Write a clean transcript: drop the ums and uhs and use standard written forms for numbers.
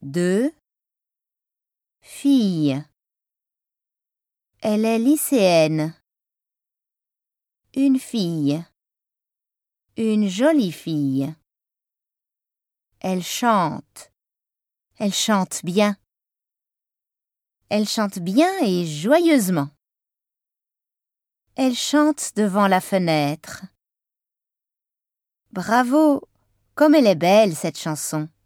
2 filles. Elle est lycéenne. Une fille. Une jolie fille. Elle chante. Elle chante bien. Elle chante bien et joyeusement. Elle chante devant la fenêtre. Bravo, comme elle est belle cette chanson.